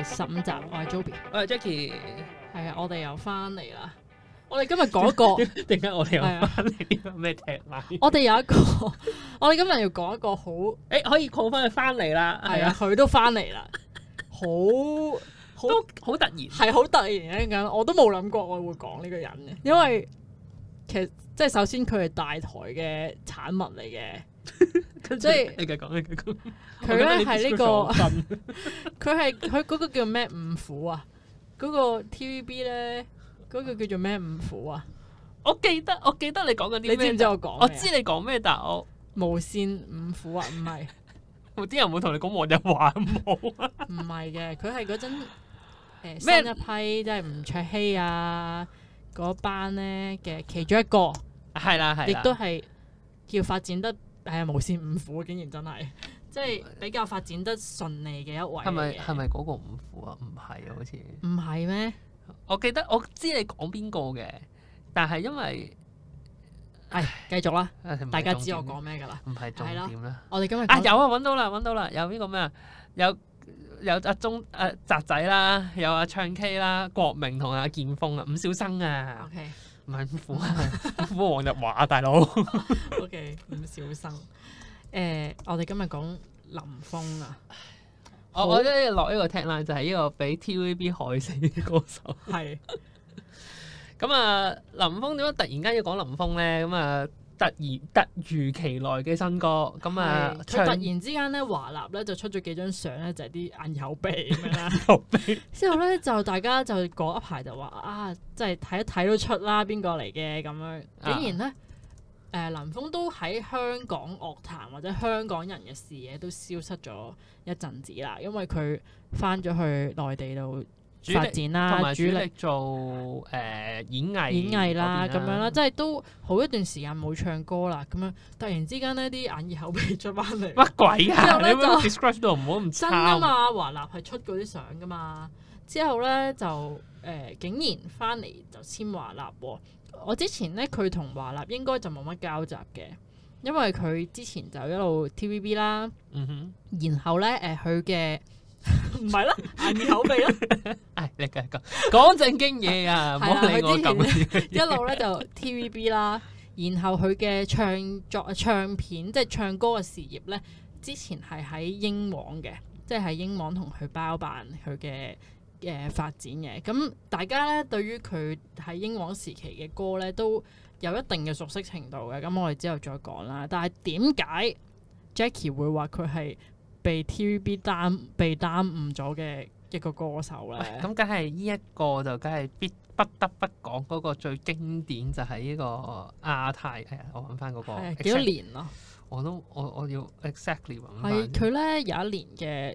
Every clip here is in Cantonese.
15集，我係 Joby， 我係 Jackie。 係啊，我哋又翻嚟啦。我哋今日講一個， 點解我哋又翻嚟呢個咩 tagline？ 我哋有一個，我哋今日要講一個好， 可以 call 翻佢翻嚟啦。 係啊，佢都翻嚟啦，都好突然， 係好突然嘅咁，我都冇諗過我會講呢個人嘅，因為其實即係首先佢係大台嘅產物嚟嘅。即係你繼續講，你繼續講。 佢咧係呢個，佢嗰個叫咩五虎啊？嗰個 TVB 咧，嗰個叫做咩五虎啊？ 我記得你講緊啲咩？ 你知唔知我講？ 我知你講咩，但係我無線五虎啊，唔係。 啲人會同你講黃日華冇啊？ 唔係嘅，佢係嗰陣新一批即係吳卓羲啊嗰班咧嘅其中一個， 係啦， 亦都係叫發展得無線五虎，竟然真係即係比較發展得順利嘅一位。係咪嗰個五虎啊？唔係啊，好似唔係咩？我知你講邊個嘅，但係因為繼續啦，大家知我講咩㗎啦？ 唔係重點啦。 我哋今日有揾到啦，有邊個咩啊？有阿澤仔啦，有阿唱 K 啦，國明同阿建峰啊，伍小生啊。 OK。 唔係五虎啊，五虎黃日華大佬。 OK， 伍小生。我哋今日講林峯啊。 我覺得落呢個 tagline 就係呢個俾 TVB 害死嘅歌手。 係。 咁啊，林峯點解突然間要講林峯咧？咁啊，突如其來嘅新歌。咁啊， 佢突然之間咧，華納咧就出咗幾張相咧，就係啲眼耳口鼻咁樣啦。之後咧就大家就嗰一排就話啊，即係睇一睇都出啦，邊個嚟嘅咁樣。竟然咧，林峯都喺香港樂壇或者香港人嘅視野都消失咗一陣子啦，因為佢翻咗去內地度發展啦， 同埋主力做演藝啦咁樣啦，即係都好一段時間冇唱歌啦，咁樣突然之間呢啲眼耳口鼻出翻嚟， 乜鬼啊？ 之後咧就 describe 到唔好咁真啊嘛，華納係出嗰啲相噶嘛，之後咧就竟然翻嚟就簽華納喎。我之前咧佢同華納應該就冇乜交集嘅，因為佢之前就一路 TVB 啦，然後咧佢嘅。唔係啦，眼耳口鼻啦。 你繼續講正經嘢啊，唔好理我咁。 一路咧就 TVB 啦，然後佢嘅唱片即係唱歌嘅事業咧，之前係喺英皇嘅，即係喺英皇同佢包辦佢嘅發展嘅。咁大家咧對於佢喺英皇時期嘅歌咧都有一定嘅熟悉程度嘅。咁我哋之後再講啦。但係點解 Jackie 會話佢係被 TVB 被耽誤咗嘅一個歌手咧？ 咁梗係呢一個就梗係不得不講嗰個最經典就係呢個亞太。我揾翻嗰個幾多年咯？ 我要 exactly 揾翻。 係佢咧有一年嘅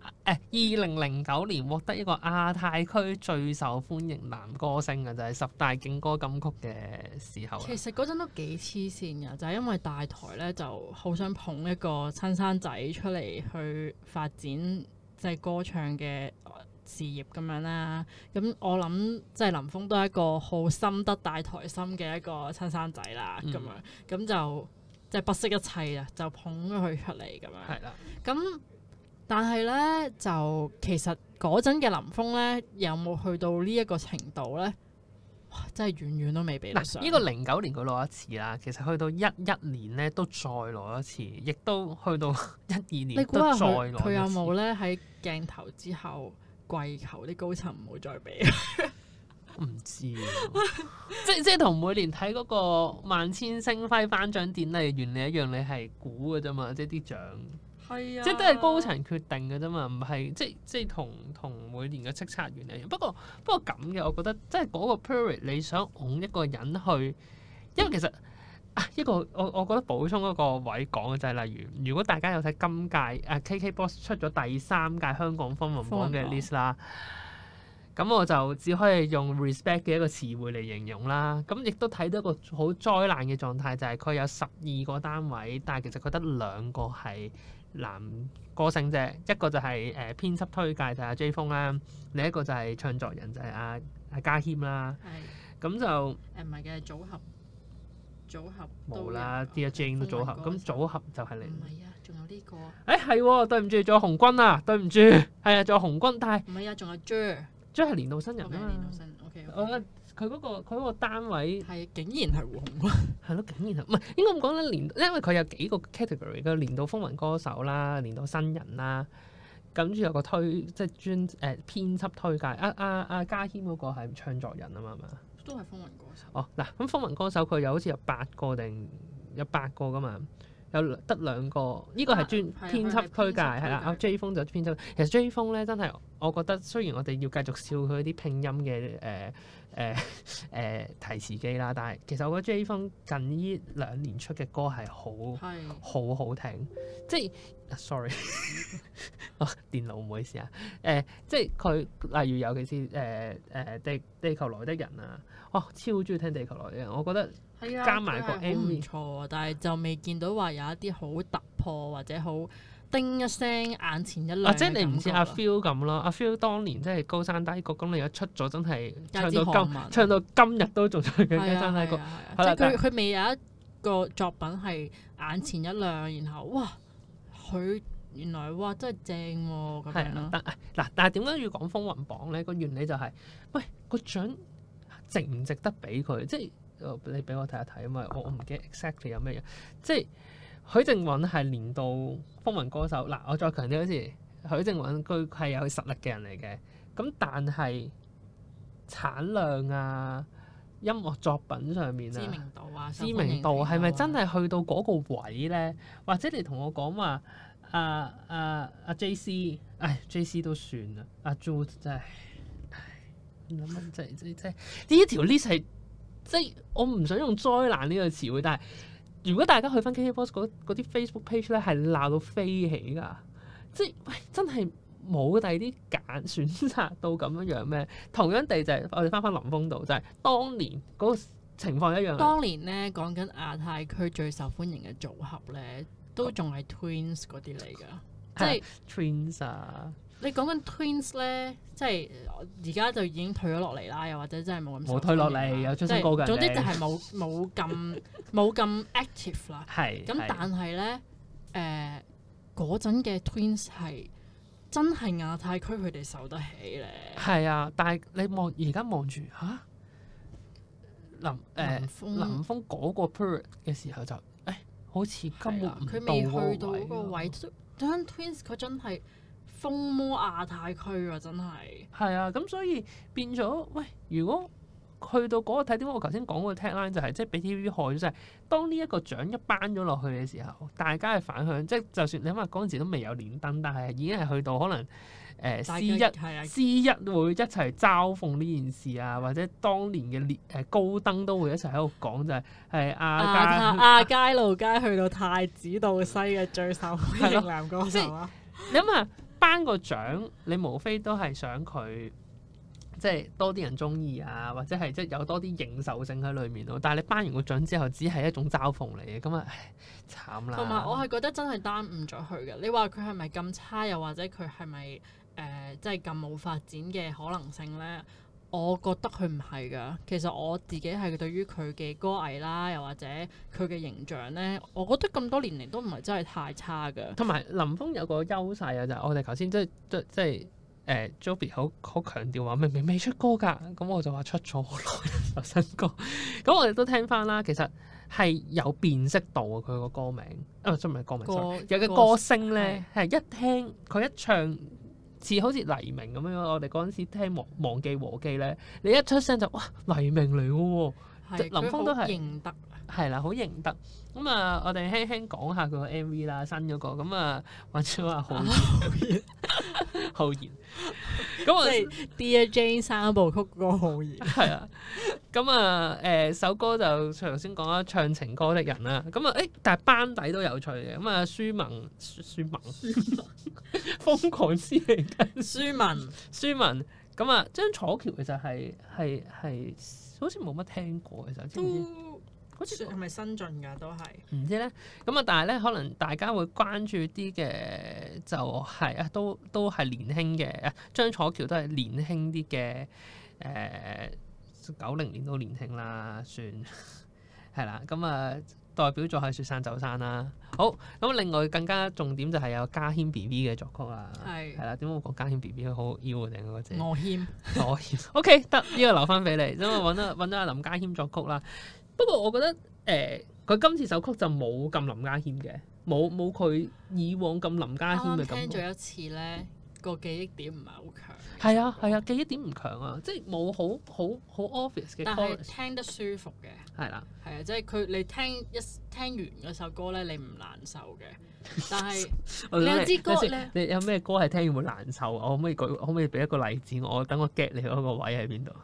2009年獲得一個亞太區最受歡迎男歌星嘅，就係10大勁歌金曲嘅時候。 其實嗰陣都幾黐線㗎，就係因為大台咧就好想捧一個親生仔出嚟去發展即係歌唱嘅事業咁樣啦。咁我諗即係林峯都係一個好深得大台心嘅一個親生仔啦。咁樣咁就即係不惜一切啊，就捧咗佢出嚟咁樣。 係啦。 咁但係咧，就其實嗰陣嘅林峯咧，有冇去到呢一個程度咧？哇！真係遠遠都未比得上。 呢個09年佢攞一次啦，其實去到11年咧都再攞一次，亦都去到12年都再攞一次。 佢有冇咧喺鏡頭之後跪求啲高層唔好再俾？ 唔知即係同每年睇嗰個萬千星輝頒獎典禮原理一樣，你係估嘅啫嘛，即係啲獎。 係啊， 即係都係高層決定嘅啫嘛，唔係即係同每年嘅叱咤原理一樣。不過咁嘅，我覺得即係嗰個 period 你想拱一個人去，因為其實一個我覺得補充一個位講嘅就係例如，如果大家有睇今屆KKBOX 出咗第3屆香港風雲榜嘅 list 啦，咁我就只可以用 respect 嘅一個詞彙嚟形容啦。咁亦都睇到一個好災難嘅狀態，就係佢有12個單位，但係其實佢得2個係男歌星啫，一個就係編輯推介就係阿 J 風啦，另一個就係唱作人就係阿家謙啦。咁就唔係嘅組合組合都有冇啦，Dear Jane 都組合，咁組合就係你。 唔係啊，仲有呢個。 係喎，對唔住，仲有紅軍啊，對唔住，係啊，仲有紅軍，但係唔係啊，仲有 Jer， 係年度新人啊年嘛度。新 OK， 我覺得佢嗰個單位係竟然係胡紅軍。 係咯，竟然係唔係應該咁講咧？因為佢有幾個 category 嘅年度風雲歌手啦、年度新人啦，跟住有個即係專編輯推介。家謙嗰個係唱作人啊嘛，係嘛？ 都係風雲歌手。 哦，嗱，咁風雲歌手佢好似有8個定有8個噶嘛，有得2個，呢個係專編輯推介係啦。阿 J 風就編輯，其實 J 風咧真係我覺得，雖然我哋要繼續笑佢啲拼音嘅提詞機啦，但係其實我覺得 J 風近呢2年出嘅歌係好聽，即係 sorry， 電腦唔好意思啊，即係佢例如尤其是地球來的人啊，超中意聽地球來的人，我覺得加埋個 MV 唔錯啊，但係就未見到話有一啲好突破或者好叮一聲眼前一亮。 即係你唔似阿 Phil 咁咯，阿 Phil 當年即係高山低谷，咁你一出咗真係唱到今日都仲唱緊高山低谷。 即係佢未有一個作品係眼前一亮，然後哇佢原來哇真係正喎咁樣咯。 但係點解要講風雲榜咧？個原理就係喂個獎值唔值得俾佢？即係你俾我睇一睇，因為我唔記得 exactly 有咩嘢。即係許靖韻係年度風雲歌手。嗱，我再強調一次，許靖韻佢係有實力嘅人嚟嘅。咁但係產量啊、音樂作品上面啊、知名度係咪真係去到嗰個位咧？或者你同我講話阿 JC， JC 都算啦，阿 Jude 真係諗諗即係呢一條 list 係即係我唔想用災難呢個詞彙，但係如果大家去翻 KKBOX 嗰啲 Facebook page 咧，係鬧到飛起㗎，即係喂真係冇第二啲選擇到咁樣咩？同樣地就係我哋翻林峯度，就係當年嗰個情況一樣。 當年咧講緊亞太區最受歡迎嘅組合咧，都仲係 Twins 嗰啲嚟㗎，即係 Twins 啊！ 你講緊 Twins 咧，即係而家就已經退咗落嚟啦，又或者真係冇退落嚟，有出新歌嘅。 總之就係冇咁 active 啦。 係咁，但係咧嗰陣嘅 Twins 係真係亞太區佢哋受得起咧。 係啊，但係你而家望住嚇林峯嗰個 period 嘅時候就好似根本佢未去到嗰個位。當 Twins 佢真係風魔亞太區啊！真係係啊，咁所以變咗喂，如果去到嗰個睇點解我頭先講嗰個 tagline 就係即係俾 TVB 害咗，就係當呢一個獎一頒咗落去嘅時候，大家嘅反響，即係就算你諗下嗰陣時都未有連登，但係已經係去到可能C1會一齊嘲諷呢件事啊，或者當年嘅高登都會一齊喺度講，就係亞皆老街去到太子道西嘅最受歡迎男歌手啊！ 你諗下頒個獎，你無非都係想佢即係多啲人中意啊，或者係即係有多啲認受性喺裏面咯。但係你頒完個獎之後，只係一種嘲諷嚟嘅，咁啊慘啦！ 同埋我係覺得真係耽誤咗佢嘅。你話佢係咪咁差，又或者佢係咪即係咁冇發展嘅可能性咧？我覺得佢唔係㗎。其實我自己係對於佢嘅歌藝啦，又或者佢嘅形象咧，我覺得咁多年嚟都唔係真係太差㗎。 同埋林峯有個優勢啊，就係我哋頭先即係Joby 好強調話明明未出歌㗎，咁我就話出咗好耐首新歌。咁我哋都聽翻啦，其實係有辨識度啊，佢個歌名真唔係歌名，sorry，有嘅歌聲咧係一聽佢一唱。似好似黎明咁樣，我哋嗰陣時聽忘記和記咧，你一出聲就哇黎明嚟嘅喎，林峯都係認得，係啦，好認得。咁啊，我哋輕輕講下佢個 MV 啦，新嗰個咁啊，揾咗阿浩然，浩然，咁啊，即係 Dear Jane 3部曲嗰個浩然， 係啊，咁啊首歌就頭先講啦，唱情歌的人啦，咁啊但係班底都有趣嘅，咁啊舒文。瘋狂之嚟嘅舒文，咁啊張楚橋其實係好似冇乜聽過，其實知唔知？ 好似係咪新進㗎？都係唔知咧。咁啊，但係咧，可能大家會關注啲嘅就係都係年輕嘅。張楚橋都係年輕啲嘅，90年都年輕啦，算。 係啦，咁代表作係雪山走山啦。好，咁另外更加重點就係有家謙 B B 嘅作曲啦。係啦，點解我講家謙 B B 好腰啊？定嗰隻？我謙。OK， 得呢個留翻俾你，因為揾咗阿林家謙作曲啦。不過我覺得佢今次首曲就冇咁林家謙嘅，冇佢以往咁林家謙嘅感覺。 聽咗一次咧，個記憶點唔係好強。 係啊，記憶點唔強啊，即係冇好 obvious 嘅 chorus， 但係聽得舒服嘅。 係啦， 係啊，即係你聽完嗰首歌咧，你唔難受嘅。但係你有支歌咧， 你有咩歌係聽完會難受？我可唔可以俾一個例子我？等我 get 你嗰個位喺邊度？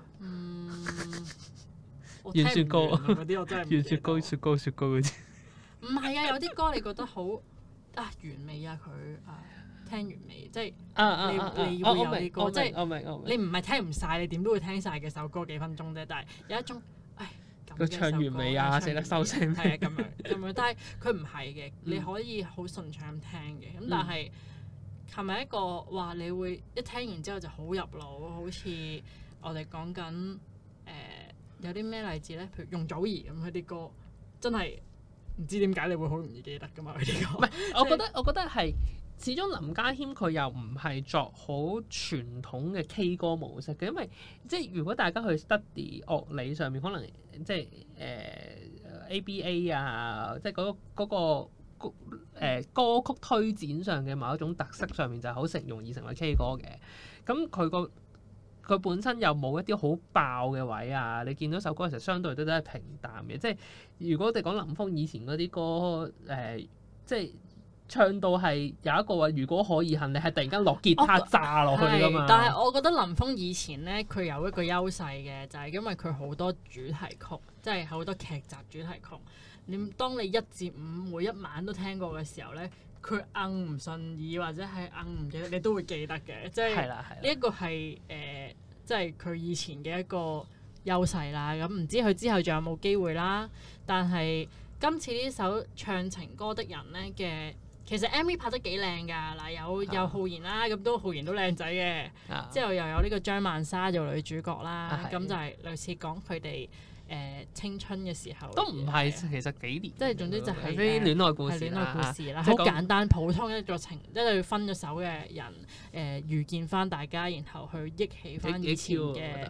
軟雪糕嗰啲我真係軟雪糕嗰啲。 唔係啊，有啲歌你覺得好完美啊，佢聽完未？即係你會有啲歌，即係你唔係聽唔晒，你點都會聽晒嘅首歌幾分鐘啫。但係有一種佢唱完未啊？捨得收聲係啊，咁樣。但係佢唔係嘅，你可以好順暢咁聽嘅。咁但係係咪一個話你會一聽完之後就好入腦？好似我哋講緊有啲咩例子咧？譬如容祖兒咁，佢啲歌真係唔知點解你會好容易記得噶嘛？佢啲歌唔係，我覺得係。始終林家謙佢又唔係作好傳統嘅 K 歌模式嘅，因為即係如果大家去 study 樂理上面，可能即係ABA 啊，即係嗰個歌曲推展上嘅某一種特色上面就係好容易成為 K 歌嘅。咁佢本身又冇一啲好爆嘅位啊，你見到首歌嘅時候相對都係平淡嘅。即係如果我哋講林峯以前嗰啲歌即係。唱到係有一個話，如果可以恨你係突然間落吉他炸落去㗎嘛。 但係我覺得林峯以前咧，佢有一個優勢嘅，就係因為佢好多主題曲，即係好多劇集主題曲。當你1至5每一晚都聽過嘅時候咧，佢唔順耳或者係唔記得，你都會記得嘅。即係呢一個係即係佢以前嘅一個優勢啦。咁唔知佢之後仲有冇機會啦？但係今次呢首唱情歌的人咧嘅。其實 MV 拍得幾靚㗎，嗱有浩然啦，咁浩然都靚仔嘅，之後又有呢個張曼莎做女主角啦，咁就係類似講佢哋青春嘅時候。都唔係， 其實幾年。 即係總之就係啲戀愛故事啦，好簡單普通一個即係分咗手嘅人遇見翻大家，然後去憶起翻以前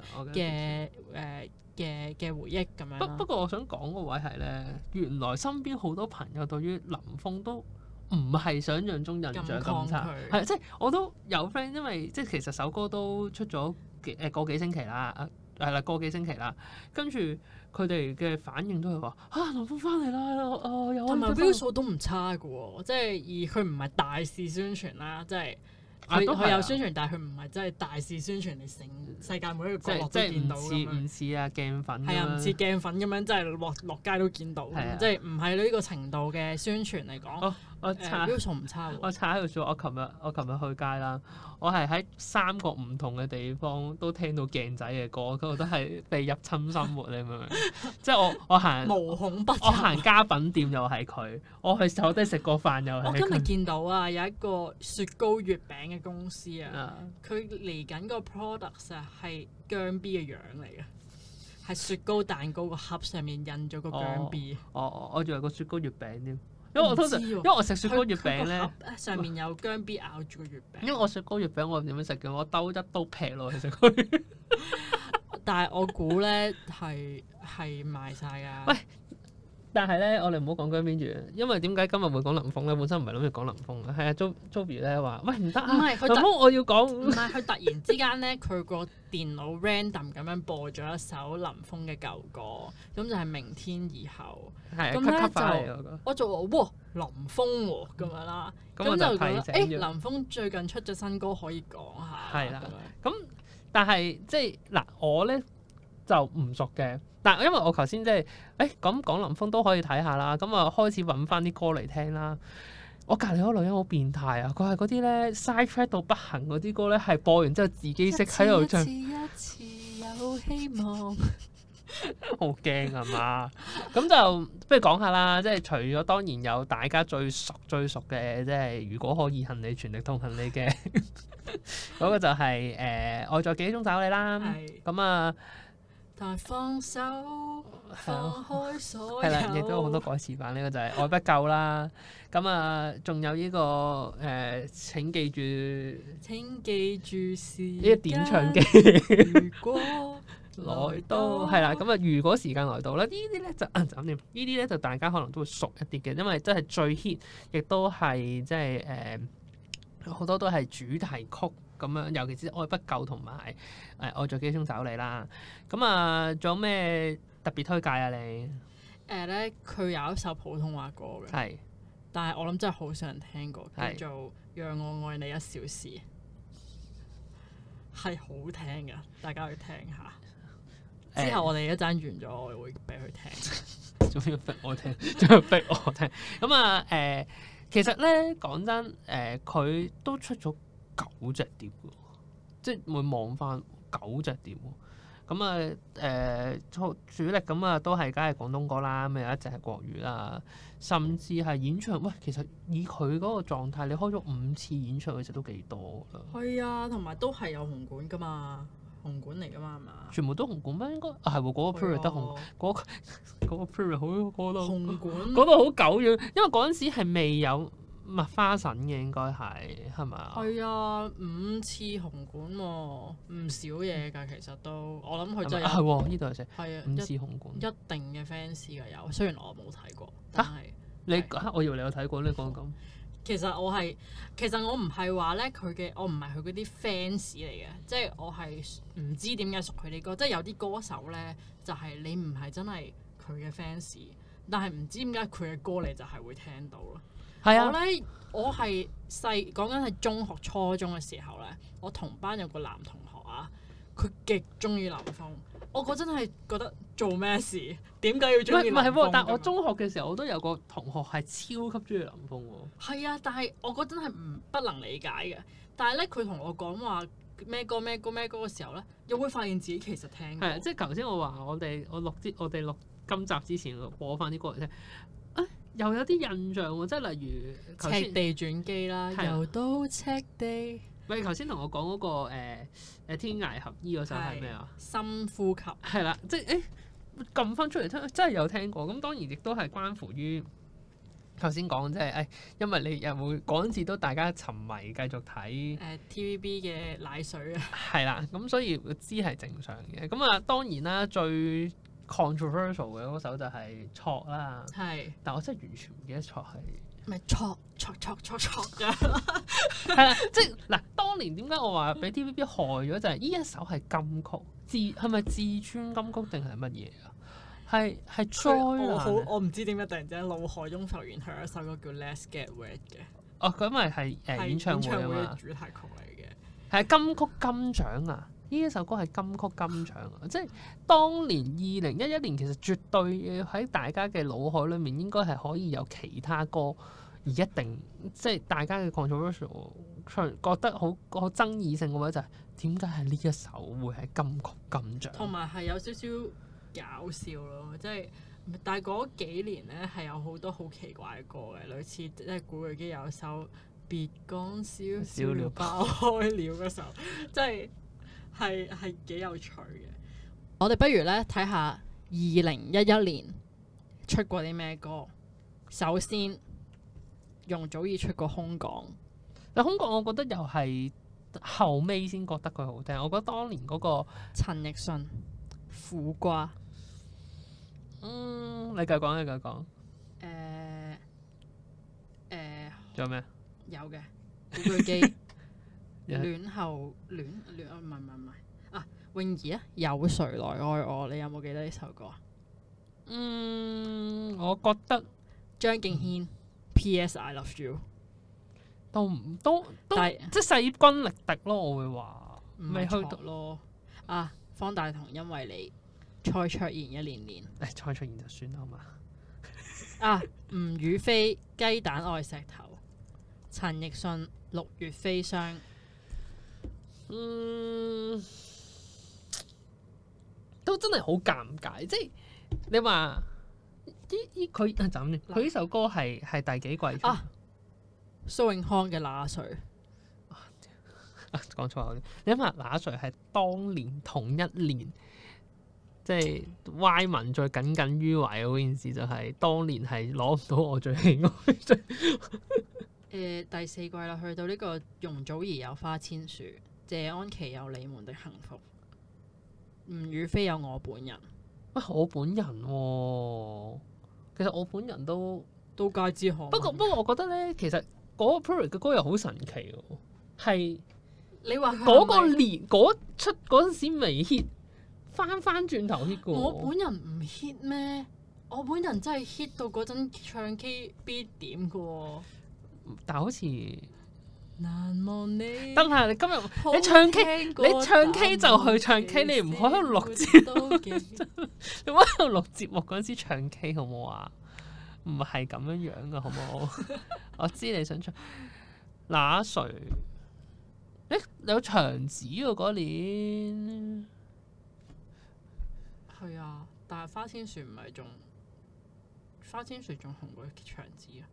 嘅回憶咁樣。 不過我想講個位係咧，原來身邊好多朋友對於林峯都唔係想像中印象咁差，係即係我都有 friend， 因為即係其實首歌都出咗個幾星期啦，係啦個幾星期啦，跟住佢哋嘅反應都係話林峯翻嚟啦， 同埋標數都唔差嘅喎，即係而佢唔係大肆宣傳啦，即係。佢有宣傳，但係佢唔係真係大肆宣傳，你成世界每一個角落都見到咁樣。 唔似啊鏡粉。 係啊，唔似鏡粉咁樣，真係落街都見到。即係唔係呢個程度嘅宣傳嚟講。標數唔差喎。 我查喺度說，我琴日去街啦，我係喺3個唔同嘅地方都聽到鏡仔嘅歌，嗰度都係被入侵生活，你明唔明？即係我行無孔不入。 我行家品店又係佢，我去坐低食個飯又係佢。 我今日見到啊，有一個雪糕月餅嘅公司啊，佢嚟緊個 product 啊係姜 B 嘅樣嚟嘅，係雪糕蛋糕個盒上面印咗個姜 B。 我仲有個雪糕月餅添。因為我通常，因為我食雪糕月餅咧， 上面有姜 B 咬住個月餅。 因為我雪糕月餅我點樣食嘅？我兜一刀劈落去食佢。 但係我估咧係賣晒㗎。 喂，但係咧，我哋唔好講姜 B 住，因為點解今日會講林峯咧？本身唔係諗住講林峯嘅，係啊，Joby 咧話：喂唔得啊，林峯我要講。 唔係佢突然之間咧，佢個電腦 random 咁樣播咗一首林峯嘅舊歌，咁就係明天以後。咁咧就我就話哇林峯喎咁樣啦，咁就覺得林峯最近出咗新歌可以講下。 係啦，咁但係即係嗱我咧就唔熟嘅，但因為我頭先即係咁講林峯都可以睇下啦，咁啊開始揾翻啲歌嚟聽啦。我隔離嗰個女人好變態啊！佢係嗰啲咧 side track 到不行嗰啲歌咧，係播完之後自己識喺度唱。 一次有希望。 好驚係嘛？咁就不如講下啦，即係除咗當然有大家最熟嘅，即係如果可以恨你全力痛恨你嘅嗰個就係愛在記憶中找你啦。咁啊， 但係放手放開所係啦，亦有。 都有好多改詞版，呢個就係愛不夠啦。咁啊，仲有呢個請記住請記住時呢個點唱機如果來到係啦。咁啊，如果時間來到啦，呢啲咧就咁掂。呢啲咧就大家可能都會熟一啲嘅，因為真係最 hit，亦都係即係好多都係主題曲咁樣，尤其是愛不夠同埋愛在記憶中找你啦。咁啊，仲有咩特別推介啊你？ 咧，佢有一首普通話歌嘅， 係但係我諗真係好少人聽過， 係叫做《讓我愛你一小時》，係好聽㗎，大家去聽下。之後我哋一陣完咗，我會俾佢聽。 仲要逼我聽，仲要逼我聽。咁啊其實咧講真佢都出咗9隻碟喎，即係會望翻9隻碟喎。咁啊主力咁啊都係梗係廣東歌啦，咁有一隻係國語啦，甚至係演唱。喂，其實以佢嗰個狀態，你開咗5次演唱，其實都幾多啦。 係啊，同埋都係有紅館㗎嘛，紅館嚟㗎嘛，係嘛？ 全部都紅館咩？應該係喎，嗰個 period 得紅，嗰個 period 好嗰度紅館嗰度好久遠，因為嗰陣時係未有麥花臣嘅，應該係咪啊？ 係啊，5次紅館喎，唔少嘢㗎，其實都我諗佢真係係喎，呢度係係啊， 5次紅館。 一定嘅 fans 㗎有，雖然我冇睇過，但係我以為你有睇過呢講咁。 其實我唔係話咧我唔係佢嗰啲 fans 嚟嘅，即係我係唔知點解熟佢啲歌，即係有啲歌手咧就係你唔係真係佢嘅 fans，但係唔知點解佢嘅歌你就係會聽到咯。 係啊， 我係講緊係中學初中嘅時候咧，我同班有個男同學啊，佢極中意林峯。我嗰陣係覺得做咩事？點解要中意林峯？ 唔係喎，但係我中學嘅時候，我都有個同學係超級中意林峯喎。 係啊，但係我嗰陣係不能理解嘅。但係咧，佢同我講話咩歌嘅時候咧，又會發現自己其實聽過。 係啊，即係頭先我話我哋錄今集之前播翻啲歌嚟聽，又有啲印象喎。即係例如赤地轉機啦，又到赤地。 喂，頭先同我講嗰個天涯合依嗰首係咩啊？ 深呼吸。係啦，即係撳翻出嚟聽，真係有聽過。咁當然亦都係關乎於頭先講，即係因為你又會嗰陣時都大家沉迷繼續睇 TVB 嘅奶水啊。 係啦，咁所以知係正常嘅。咁啊，當然啦，最 controversial 嘅嗰首就係錯啦。係，但我真係完全唔記得錯係。 咪錯㗎， 係啦，即係嗱，當年點解我話俾 TVB 害咗就係呢一首係金曲，係咪至尊金曲定係乜嘢啊？係災難。 我唔知點解突然之間腦海中浮現佢有一首歌叫 Let's Get Wet 嘅。 哦，佢咪係演唱會啊嘛， 主題曲嚟嘅。 係金曲金獎啊！呢一首歌係金曲金獎啊！即係當年2011年，其實絕對喺大家嘅腦海裏面應該係可以有其他歌，而一定即係大家嘅 controversial 覺得好爭議性嘅話，就係點解係呢一首會係金曲金獎？同埋係有少少搞笑咯，即係但係嗰幾年咧係有好多好奇怪嘅歌嘅，類似即係古巨基有一首別講笑笑了爆開了嗰首，即係幾有趣嘅。我哋不如咧睇下2011年出過啲咩歌。首先，容祖兒出過《空港》。但《空港》我覺得又係後尾先覺得佢好聽。我覺得當年嗰個陳奕迅《苦瓜》。你繼續講。仲有咩？有嘅古巨基。戀後戀唔係啊！泳兒啊，有誰來愛我？你有冇記得呢首歌啊？我覺得張敬軒 P.S. I Love You 都但係即係勢均力敵咯，我會話未去到咯。啊，方大同因為你，蔡卓妍一年年，蔡卓妍就算啦好嘛。啊，吳雨霏雞蛋愛石頭，陳奕迅六月飛霜。都真係好尷尬，即係你話佢就咁佢呢首歌係第幾季出？蘇永康嘅那誰？講錯口啲，你諗下那誰係當年同一年即係歪文再耿耿於懷嗰件事，就係當年係攞唔到我最喜愛。 第四季啦，去到呢個容祖兒有花千樹，謝安琪有你們的幸福，吳雨霏有我本人。 喂，我本人喎、其實我本人都皆知可聞。 不過我覺得咧，其實嗰個 period 嘅歌又好神奇喎，係你話嗰個年嗰陣時未 hit，翻轉頭 hit 嘅喎。 我本人唔 hit 咩？我本人真係 hit 到嗰陣唱 K 必點嘅喎。 但係好似難忘你。 得啦，你今日你唱 K，你唱 K 就去唱 K，你唔好喺度錄節目，你唔好喺度錄節目嗰陣時唱 K 好唔好啊？唔係咁樣樣嘅，好唔好？我知你想唱那誰？有長子喎嗰年。 係啊，但係花千樹唔係仲花千樹仲紅過長子啊？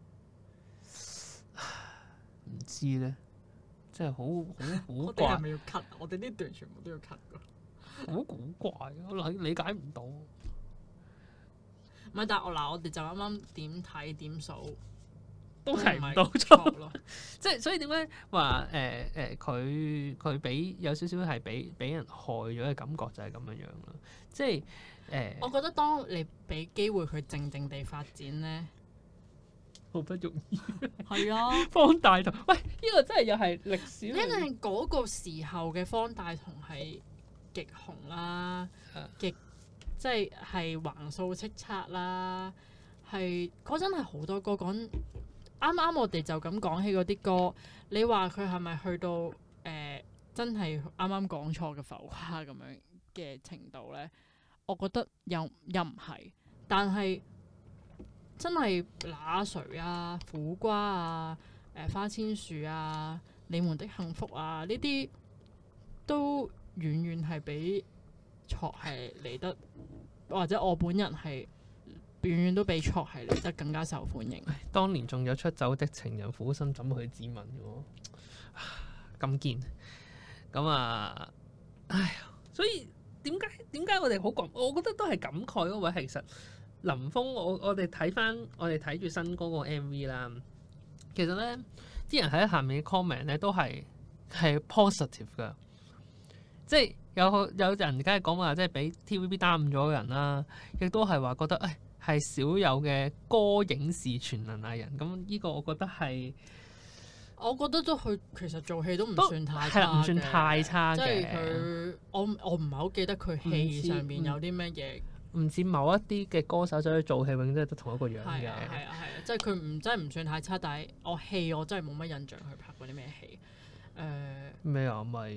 唔知咧，真係好我哋怪係，咪要 cut？我哋呢段全部都要 cut 㗎。 好古怪，我理解唔到。 唔係，但係我哋就啱啱點睇點數都提唔到錯錯咯。 即係所以點解話佢俾有少少係俾人害咗嘅感覺就係咁樣樣咯。即係我覺得當你俾機會佢靜靜地發展咧， 好不容易係啊， 方大同，喂，呢個真係又係歷史因為嗰個時候嘅方大同係極紅啦，極即係橫掃叱咤啦，係嗰陣係好多歌講。啱啱我哋就咁講起嗰啲歌，你話佢係咪去到真係啱啱講錯嘅浮誇咁樣嘅程度咧？我覺得又唔係，但係真係那誰啊、苦瓜啊、花千樹啊、你們的幸福啊呢啲都遠遠係比錯係嚟得，或者我本人係。遠遠都比錯係嚟得更加受歡迎。 當年仲有出走的情人，苦心怎去自問嘅喎，咁堅咁啊！唉呀，所以點解我哋好講？我覺得都係感慨嗰位係其實林峯，我哋睇翻我哋睇住新歌個 MV 啦，其實咧啲人喺下面嘅 comment 咧都係 positive 㗎，即係有人梗係講話即係俾 TVB 耽誤咗嘅人啦，亦都係話覺得係少有嘅歌影視全能藝人，咁呢個我覺得係， 我覺得都佢其實做戲都唔算太差嘅， 唔算太差嘅。 即係佢，我唔係好記得佢戲上邊有啲咩嘢。 唔似某一啲嘅歌手走去做戲，永遠都係得同一個樣嘅。 係啊，即係佢真係唔算太差，但係我真係冇乜印象佢拍過啲咩戲。 咩啊？咪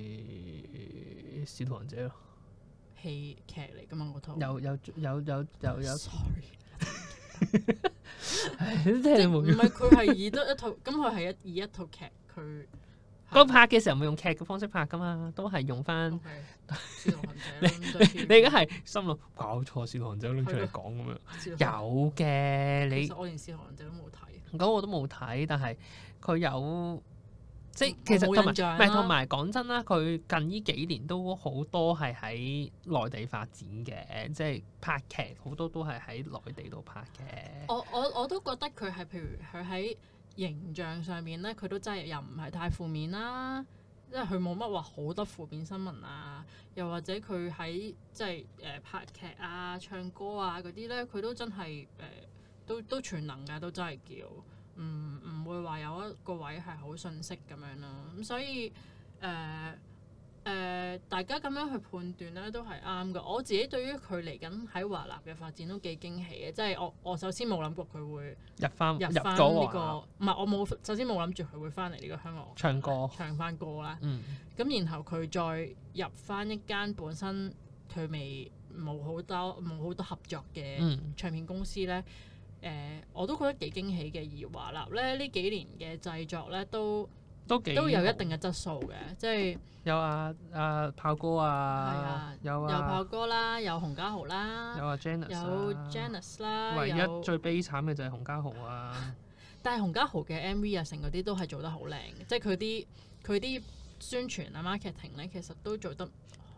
《使徒行者》咯。 戲劇嚟㗎嘛嗰套。 有。 Sorry。 即係唔係佢係以得一套，咁佢係以一套劇佢。 嗰拍嘅時候冇用劇嘅方式拍㗎嘛，都係用翻。 使徒行者。 你而家係心諗搞錯，使徒行者拎出嚟講咁樣。有嘅，你。 其實我連使徒行者都冇睇。 咁我都冇睇，但係佢有。即係其實同埋講真啦，佢近呢幾年都好多係喺內地發展嘅，即係拍劇好多都係喺內地度拍嘅。 我都覺得佢係譬如佢喺形象上面咧，佢都真係又唔係太負面啦，即係佢冇乜話好多負面新聞啊，又或者佢喺即係拍劇啊、唱歌啊嗰啲咧，佢都真係都全能㗎，都真係叫。唔會話有一個位係好遜色咁樣咯，咁所以大家咁樣去判斷咧都係啱嘅。我自己對於佢嚟緊喺華納嘅發展都幾驚喜嘅，即係我首先冇諗過佢會入翻呢個，唔係我冇首先冇諗住佢會翻嚟呢個香港唱翻歌啦。咁然後佢再入翻一間本身佢冇好多合作嘅唱片公司咧。我都覺得幾驚喜嘅，而華納咧呢幾年嘅製作咧都有一定嘅質素嘅，即係有炮哥啊，有炮哥啦，有洪家豪啦， 有 Janice 啦， 唯一最悲慘嘅就係洪家豪啊。 但係洪家豪嘅 MV 啊，成嗰啲都係做得好靚嘅，即係佢啲宣傳啊 marketing 咧，其實都做得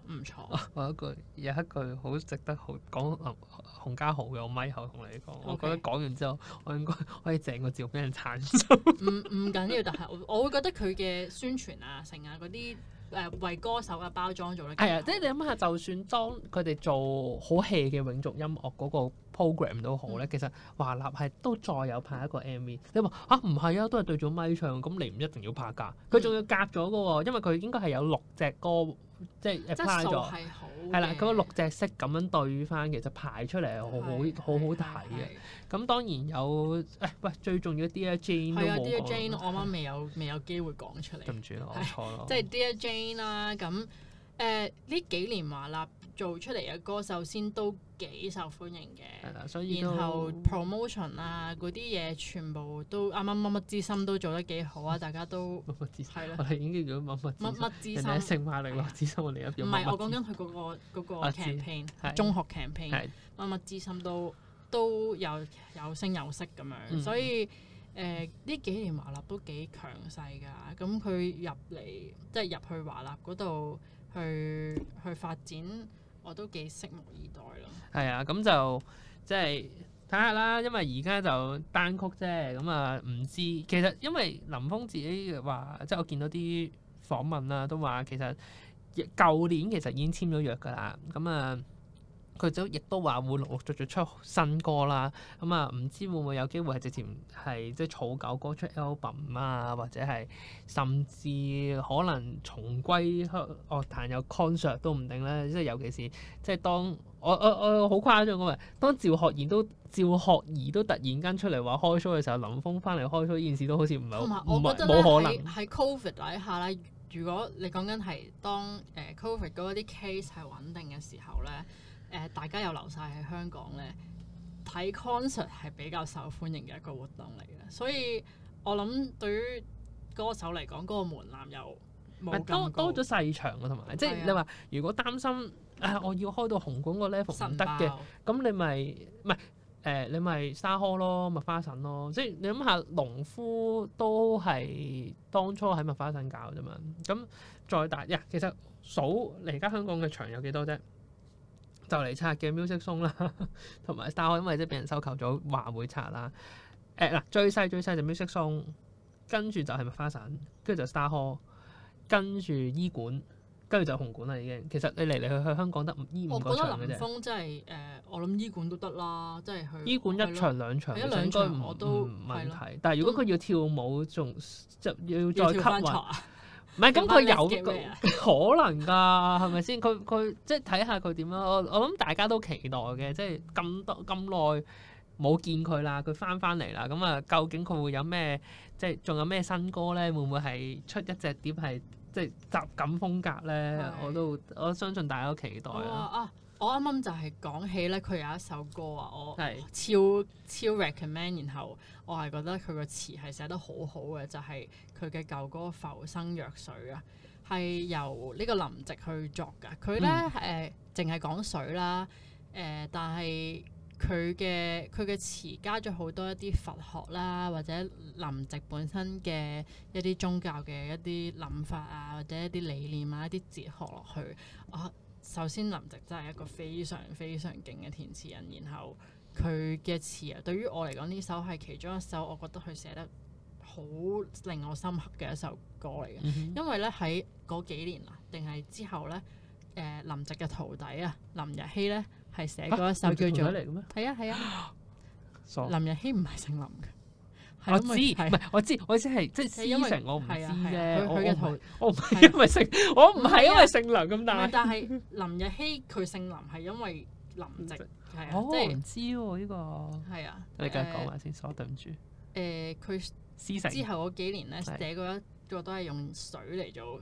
唔錯。 我有一句好值得好講洪家豪嘅，我咪後同你講，我覺得講完之後，我應該可以整個照俾人鏟咗。 唔緊要，但係我會覺得佢嘅宣傳啊、成啊嗰啲為歌手嘅包裝做得係啊，即係你諗下，就算當佢哋做好 hea 嘅永續音樂嗰個 program 都好咧，其實華納係都再有拍一個 MV。你話唔係啊，都係對住咪唱，咁你唔一定要拍㗎。佢仲要夾咗嘅喎，因為佢應該係有6隻歌。即係 apply 咗，係啦，嗰6隻色咁樣對翻，其實排出嚟係好好睇嘅。咁當然有喂，最重要 Dear Jane 都冇講。 Dear Jane 我啱未有機會講出嚟。 對唔住我錯咯。 即係 Dear Jane 啦，咁呢幾年華納做出嚟嘅歌首先都幾受歡迎嘅。係啦，所以然後 promotion 啊嗰啲嘢全部都啱啱乜乜之心都做得幾好啊！大家都乜乜之心係啦， 我哋已經叫咗乜乜之心。人哋聖馬力諾之心，我哋一唔係我講緊佢嗰個 campaign，中學 campaign，乜乜之心都有聲有色咁樣，所以呢幾年華納都幾強勢㗎。咁佢入去華納嗰度去發展，我都幾拭目以待咯。係啊， 咁就即係睇下啦，因為而家就單曲啫，咁啊唔知其實因為林峰自己話，即係我見到啲訪問啦，都話其實舊年其實已經簽咗約㗎啦，咁啊。佢亦都話會陸陸續續出新歌啦，咁啊唔知會唔會有機會係直接係即係儲舊歌出 album 啊，或者係甚至可能重歸樂壇有 concert 都唔定咧。即係尤其是即係當我好誇張咁啊，當趙學而都突然間出嚟話開 show 嘅時候，林峰翻嚟開 show 呢件事都好似唔係冇可能。 喺 Covid 底下咧，如果你講緊係當Covid 嗰啲 case 係穩定嘅時候咧。大家又留晒喺香港咧，睇 concert 係比較受歡迎嘅一個活動嚟嘅，所以我諗對於歌手嚟講，嗰個門檻又冇咁高， 多咗細場嘅，同埋即係你話如果擔心我要開到紅館個 level 唔得嘅，咁你咪你咪沙柯咯，麥花臣咯，即係你諗下農夫都係當初喺麥花臣搞啫嘛，咁再大其實數嚟而家香港嘅場有幾多啫？就嚟拆嘅 Music Zone 啦，同埋 Star Hall 因為即係俾人收購咗，話會拆啦。最細就 Music Zone，跟住就係麥花臣，跟住就 Star Hall，跟住醫館，跟住就紅館啦已經。其實你嚟去香港得呢5個場嘅啫。 我覺得林峰真係我諗醫館都得啦，即係去醫館1場2場，應該唔問題。但係如果佢要跳舞，仲就要再吸運。唔係，咁佢有可能㗎，係咪先？佢即係睇下佢點樣。我諗大家都期待嘅，即係咁耐冇見佢啦，佢翻嚟啦。咁啊，究竟佢會有咩？即係仲有咩新歌咧？會唔會係出一隻碟係即係集錦風格咧？我相信大家都期待啊！ 我啱啱就係講起咧，佢有一首歌啊，我超 recommend， 然後我係覺得佢個詞係寫得好好嘅，就係佢嘅舊歌《浮生若水》啊，係由呢個林夕去作㗎。佢咧淨係講水啦，但係佢嘅詞加咗好多一啲佛學啦，或者林夕本身嘅一啲宗教嘅一啲諗法啊，或者一啲理念啊，一啲哲學落去首先林夕真係一個非常非常勁嘅填詞人，然後佢嘅詞啊，對於我嚟講呢首係其中一首我覺得佢寫得好令我深刻嘅一首歌嚟嘅。因為咧喺嗰幾年啊，定係之後咧，林夕嘅徒弟啊林日曦咧係寫過一首叫做係啊，林日曦唔係姓林嘅。 我知，唔係我知係即係師承，我唔知啫。 佢嘅徒， 我唔係因為姓，我唔係因為姓梁咁大。 但係林日曦佢姓林係因為林夕係啊，即係唔知喎呢個。係啊，你繼續講埋先，對唔住。 佢師承之後嗰幾年咧寫過一個都係用水嚟做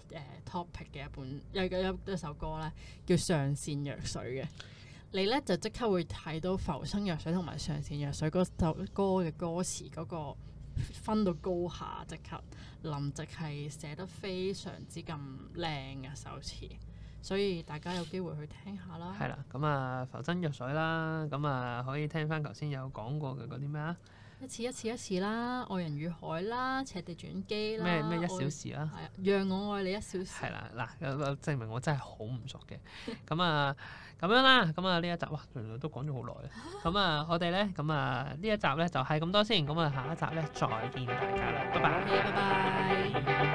topic 嘅一首歌咧，叫《上善若水》嘅。你咧就即刻會睇到浮生若水同埋上善若水嗰首歌嘅歌詞嗰個分到高下，即刻林夕係寫得非常之咁靚嘅首詞，所以大家有機會去聽下啦。 係啦，咁啊浮生若水啦，咁啊可以聽翻頭先有講過嘅嗰啲咩啊？ 一次啦，愛人與海啦，赤地轉機啦， 咩一小時啦， 係啊，讓我愛你一小時。 係啦，嗱，證明我真係好唔熟嘅。咁啊，咁樣啦，咁啊呢一集哇，原來都講咗好耐啦。咁啊，我哋咧，咁啊呢一集咧就係咁多先。咁啊，下一集咧再見大家啦，拜拜。 拜拜。